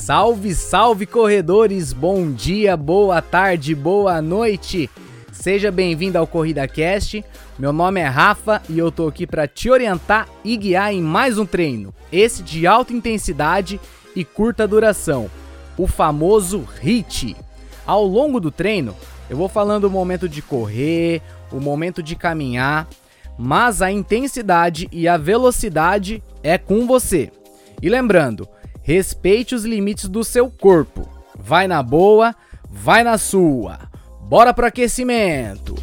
Salve, salve corredores, bom dia, boa tarde, boa noite. Seja bem-vindo ao Corrida Cast. Meu nome é Rafa e eu tô aqui para te orientar e guiar em mais um treino, esse de alta intensidade e curta duração, o famoso HIIT. Ao longo do treino, eu vou falando o momento de correr, o momento de caminhar, mas a intensidade e a velocidade é com você. E lembrando, respeite os limites do seu corpo. Vai na boa, vai na sua. Bora pro aquecimento!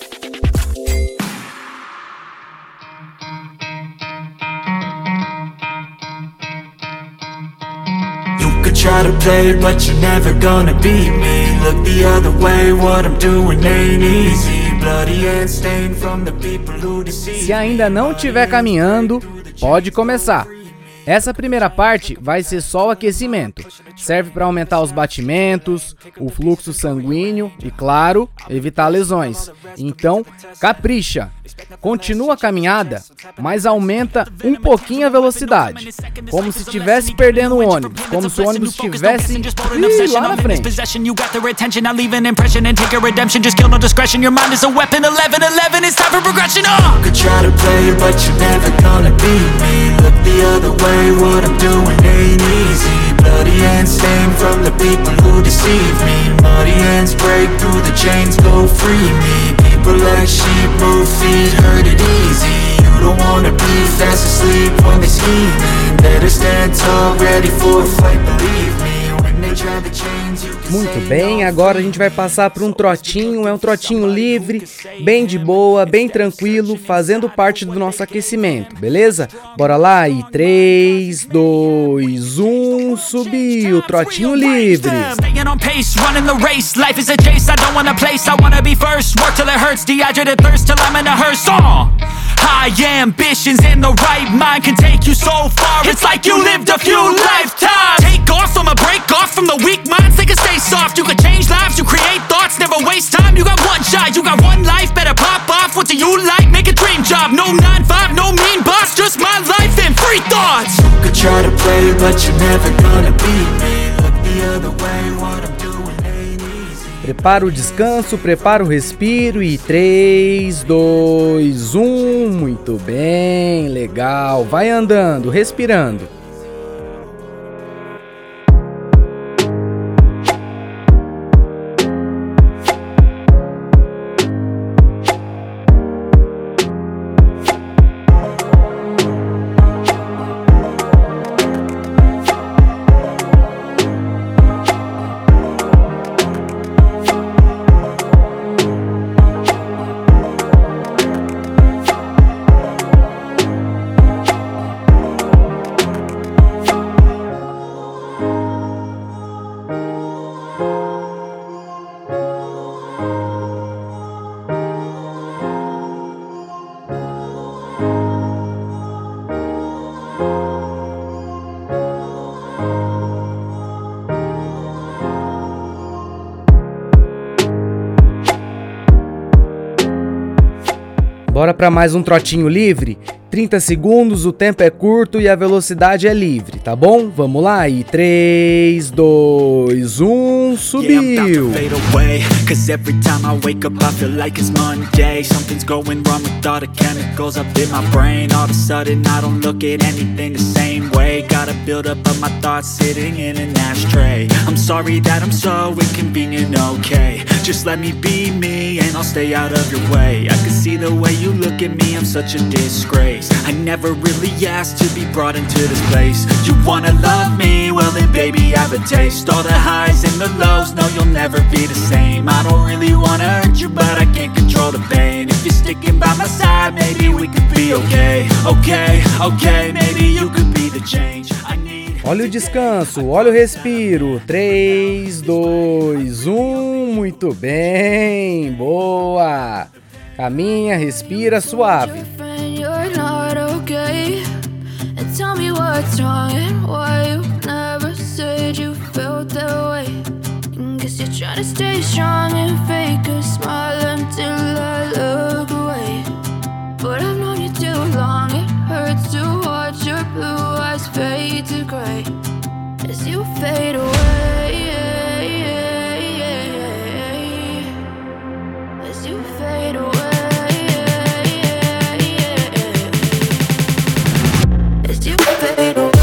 Try to play, but you're never gonna beat me. Look the other way, what I'm doing ain't easy. Bloody and stained from the people who deceive. Se ainda não estiver caminhando, pode começar. Essa primeira parte vai ser só o aquecimento. Serve para aumentar os batimentos, o fluxo sanguíneo e, claro, evitar lesões. Então, capricha. Continua a caminhada, mas aumenta um pouquinho a velocidade. Como se estivesse perdendo o ônibus. Como se o ônibus estivesse lá na frente. What I'm doing ain't easy. Bloody hands stained from the people who deceive me. Muddy hands break through the chains, go free me. People like sheep move feet, heard it easy. You don't wanna be fast asleep when they scheming. Better stand tall, ready for a fight, believe me. Muito bem, agora a gente vai passar para um trotinho, é um trotinho livre, bem de boa, bem tranquilo, fazendo parte do nosso aquecimento, beleza? Bora lá, e 3, 2, 1, subiu, trotinho livre. High ambitions and the right mind can take you so far. It's like you lived a few lifetimes. Take off from a break off from the weak minds. They can stay soft. You can change lives. You create thoughts. Never waste time. You got one shot. You got one life. Better pop off. What do you like? Make a dream job. No 9-5. No mean boss. Just my life and free thoughts. You could try to play, but you're never gonna beat me. Look the other way. What I'm doing. Prepara o descanso, prepara o respiro e 3, 2, 1, muito bem, legal, vai andando, respirando. Bora para mais um trotinho livre? 30 segundos, o tempo é curto e a velocidade é livre, tá bom? Vamos lá, e 3, 2, 1, subiu! Cause every time I wake up I feel like it's Monday. Something's going wrong with all the chemicals up in my brain. All of a sudden I don't look at anything the same way. Gotta build up of my thoughts sitting in an ashtray. I'm sorry that I'm so inconvenient, okay. Just let me be me and I'll stay out of your way. I can see the way you look at me, I'm such a disgrace. I never really asked to be brought into this place. You wanna love me? Well then baby I have a taste. All the highs and the lows, no you'll never be the same. I don't really wanna hurt you but I can't control the pain. If you're sticking by my side maybe we could be okay. Okay, maybe you could be the change I need. Olha o descanso, olha o respiro. 3, 2, 1, muito bem, boa. Caminha, respira suave. Tell me what's wrong and why you never said you felt that way. Guess you're trying to stay strong and fake a smile until I look away. But I've known you too long, it hurts to watch your blue eyes fade to gray as you fade away, as you fade away, as you fade away.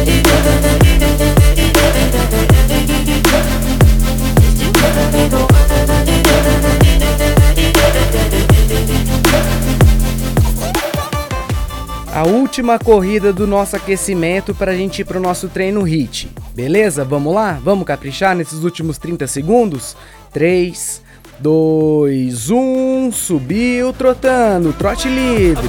A última corrida do nosso aquecimento para a gente ir para o nosso treino HIIT. Beleza? Vamos lá? Vamos caprichar nesses últimos 30 segundos? 3, 2, 1, subiu trotando, trote livre.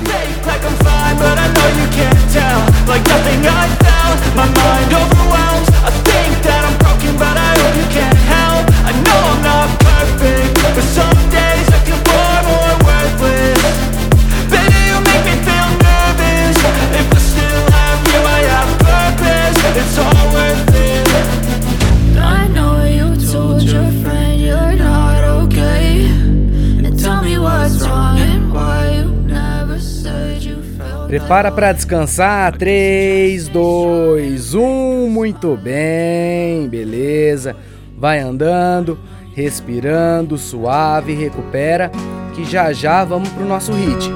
It's all worth it. I know you told your friend you're not okay, and tell me what's wrong and why you never said you felt. Prepara para descansar. 3, 2, 1. Muito bem, beleza. Vai andando, respirando, suave, recupera, que já já vamos pro nosso HIIT.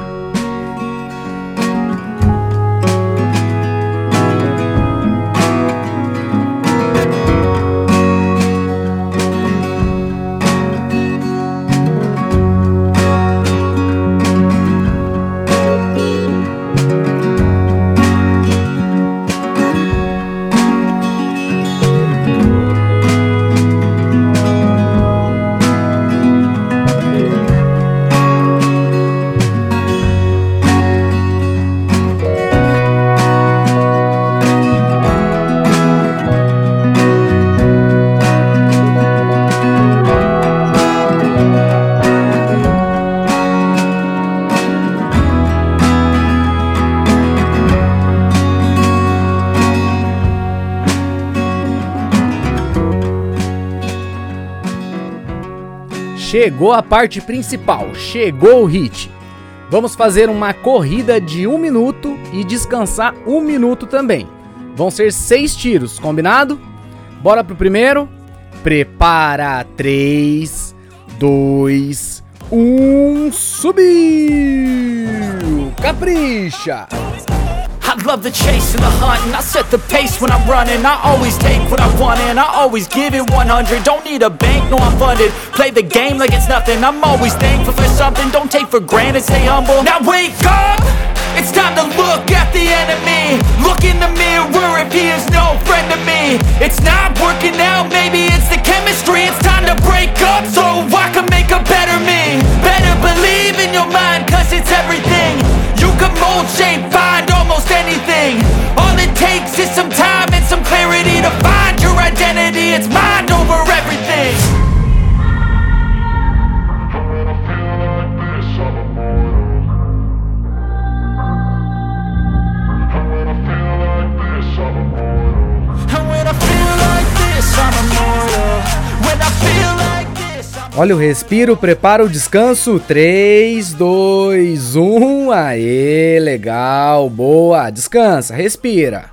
Chegou a parte principal, chegou o HIIT. Vamos fazer uma corrida de 1 minuto e descansar 1 minuto também. Vão ser 6 tiros, combinado? Bora pro primeiro? Prepara, 3, 2, 1, subiu! Capricha! I love the chase and the hunt, and I set the pace when I'm running. I always take what I want and I always give it 100. Don't need a bank, no I'm funded. Play the game like it's nothing. I'm always thankful for something. Don't take for granted, stay humble. Now wake up! It's time to look at the enemy. Look in the mirror if he is no friend to me. It's not working out, maybe it's the chemistry. It's time to break up so I can make a better me. Better believe in your mind, cause it's everything. You can mold, shape, find almost anything. All it takes is some time and some clarity to find your identity. It's mind over everything. Olha o respiro, prepara o descanso. 3, 2, 1. Aê, legal, boa. Descansa, respira.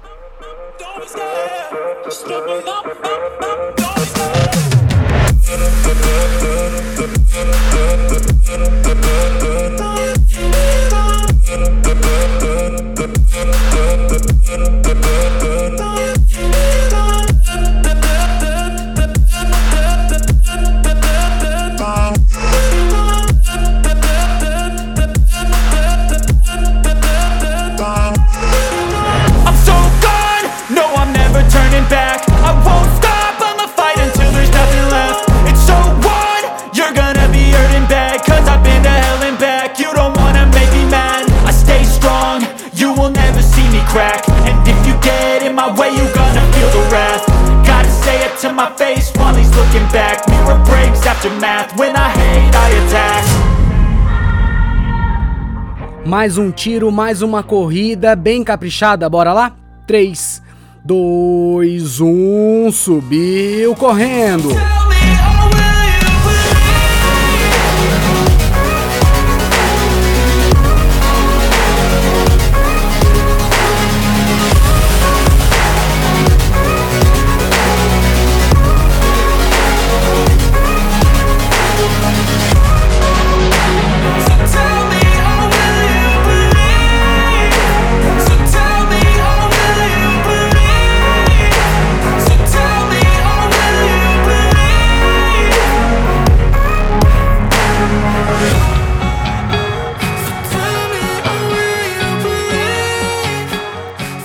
Mais um tiro, mais uma corrida bem caprichada, bora lá? 3, 2, 1, subiu correndo.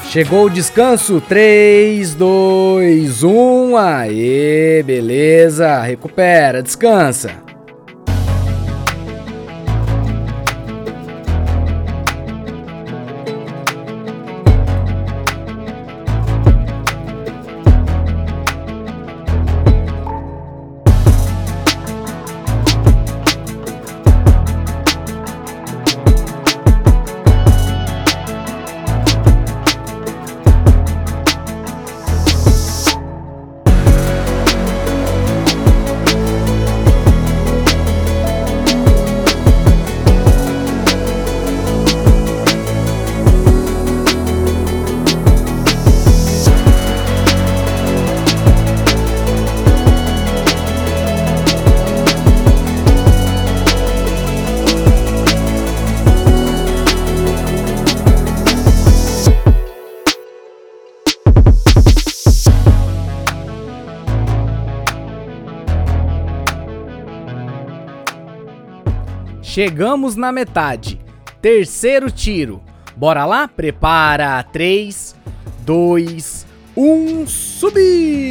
Chegou o descanso, 3, 2, 1, aê, beleza, recupera, descansa. Chegamos na metade. Terceiro tiro. Bora lá? Prepara. 3, 2, 1. Subiu!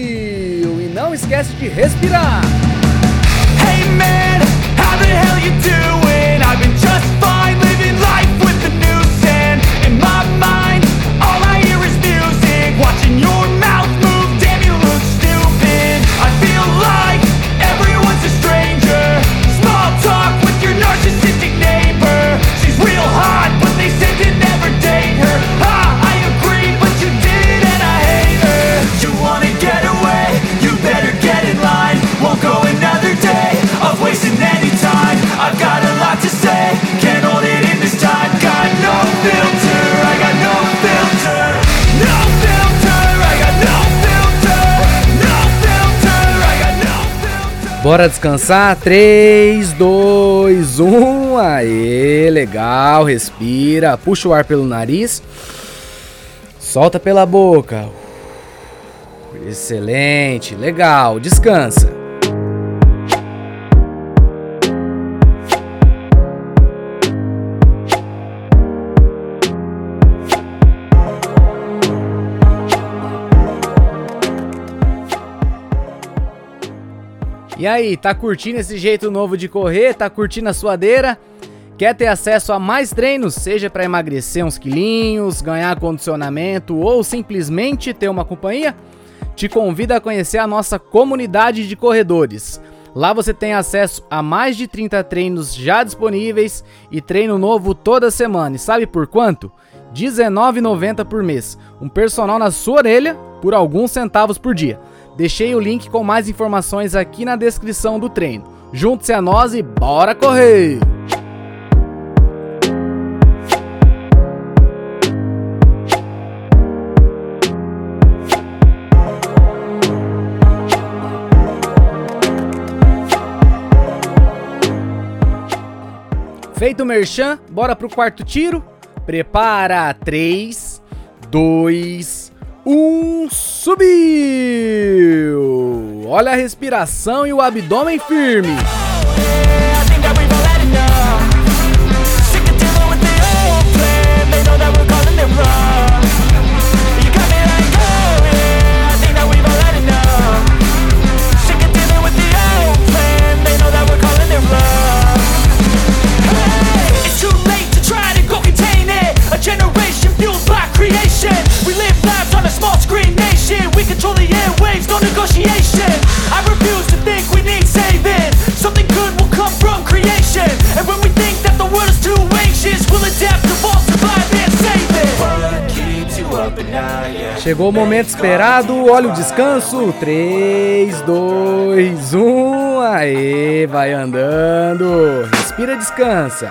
E não esquece de respirar. Hey man, how the hell you doing? I've been just fine living life with the noose and in my mind all I hear is music. Watching your mouth move, damn you look stupid. I feel like everyone's a stranger. Small talk with your narcissistic neighbor. She's real hot, but they said to never date her. Ha, I agree, but you did and I hate her. You wanna get away? You better get in line. Won't go another day of wasting any time. I've got a lot to say, can't hold it in this time. Got no filter, I got no filter. No filter, I got no filter. No filter, I got no filter. Bora descansar. 3, 2, 1. Aê, legal. Respira. Puxa o ar pelo nariz. Solta pela boca. Excelente. Legal. Descansa. E aí, tá curtindo esse jeito novo de correr? Tá curtindo a suadeira? Quer ter acesso a mais treinos, seja para emagrecer uns quilinhos, ganhar condicionamento ou simplesmente ter uma companhia? Te convido a conhecer a nossa comunidade de corredores. Lá você tem acesso a mais de 30 treinos já disponíveis e treino novo toda semana. E sabe por quanto? R$19,90 por mês. Um personal na sua orelha por alguns centavos por dia. Deixei o link com mais informações aqui na descrição do treino. Junte-se a nós e bora correr! Feito o merchan, bora pro quarto tiro. Prepara. 3, 2, 1. Subiu! Olha a respiração e o abdômen firme. Generation fueled by creation. We live lives on a small screen nation. We control the airwaves, no negotiation. I refuse to think we need saving. Something good will come from creation. And when we think that the world is too anxious, we'll adapt, evolve, survive and save it. What keeps you up at night? Chegou o momento esperado, olha o descanso. 3, 2, 1. Aê, vai andando. Respira, descansa.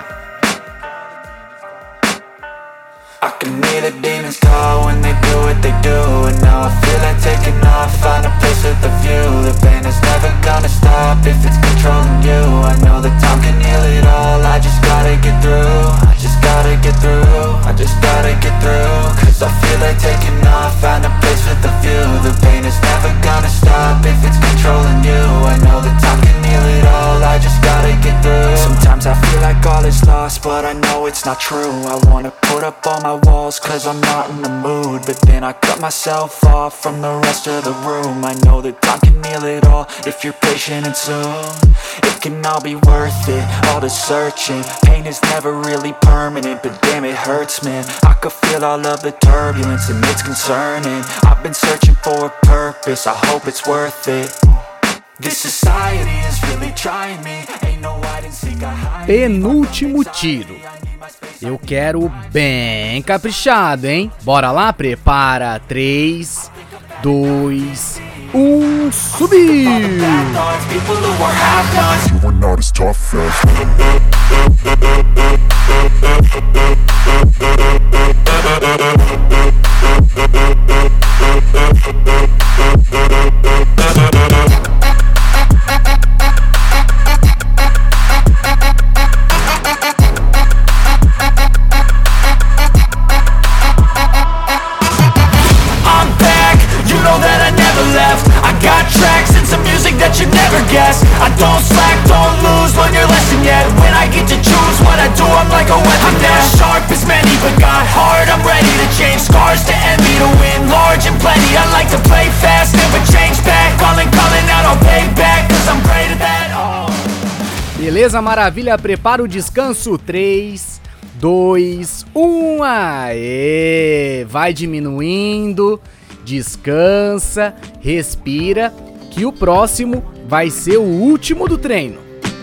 I can hear the demons call when they do what they do. And now I feel like taking off, find a place with a view. The pain is never gonna stop if it's controlling you. I know that time can heal it all, I just gotta get through. I just gotta get through, I just gotta get through. Cause I feel like taking off, find a place with a view. The pain is never gonna stop if it's controlling you. I know that time can heal it all, I just gotta get through. Sometimes I feel like all is lost, but I know it's not true. I wanna put up all my walls cause I'm not in the mood, but then I cut myself off from the rest of the room. I know that time can heal it all if you're patient and soon it can all be worth it, all the searching. Pain is never really permanent, but damn it hurts, man. I could feel all of the turbulence and it's concerning. I've been searching for a purpose, I hope it's worth it. This society is really trying me. Ain't no hide and seek, I hide. Penúltimo tiro. Eu quero bem caprichado, hein? Bora lá, prepara. 3, 2, 1, subiu! You are not as tough as I don't slack, don't lose, learn your lesson yet. When I get to choose what I do, I'm like a weapon. I'm not sharp as many, but got hard. I'm ready to change scars to envy, to win large and plenty. I like to play fast, never change back. Calling out, I'll pay back, cause I'm great at that. Beleza, maravilha, prepara o descanso. 3, 2, 1, aê! Vai diminuindo, descansa, respira, que o próximo vai ser o último do treino.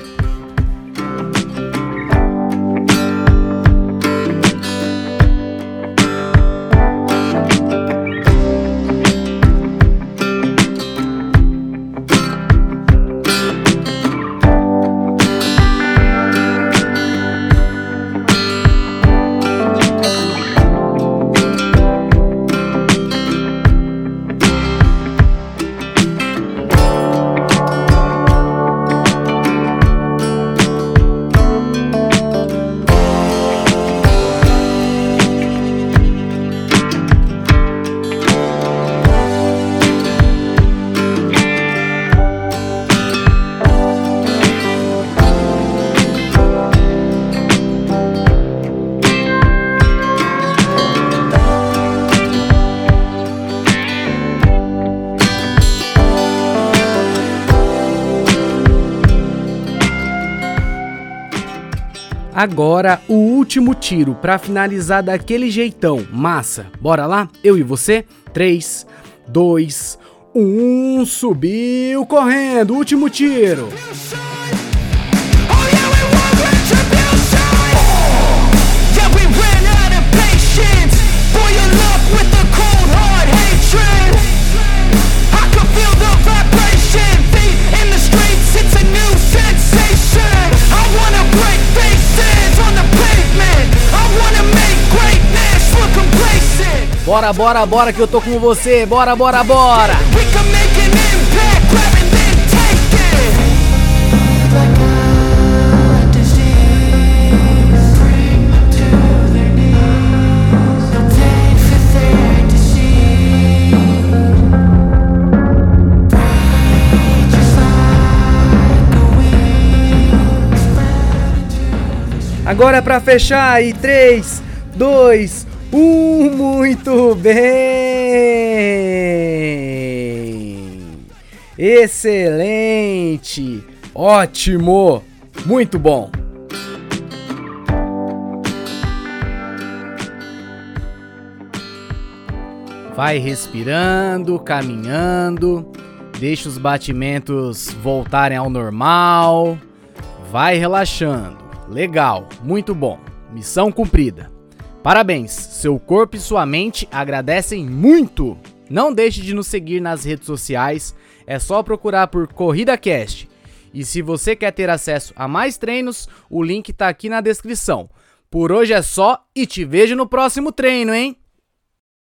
Agora o último tiro pra finalizar daquele jeitão, massa. Bora lá? Eu e você? 3, 2, 1, subiu correndo, último tiro. Bora, bora, bora que eu tô com você. Bora, bora, bora. Agora é pra fechar aí. 3, 2, 1, muito bem! Excelente! Ótimo! Muito bom! Vai respirando, caminhando, deixa os batimentos voltarem ao normal, vai relaxando. Legal, muito bom. Missão cumprida. Parabéns, seu corpo e sua mente agradecem muito! Não deixe de nos seguir nas redes sociais, é só procurar por CorridaCast. E se você quer ter acesso a mais treinos, o link tá aqui na descrição. Por hoje é só e te vejo no próximo treino, hein?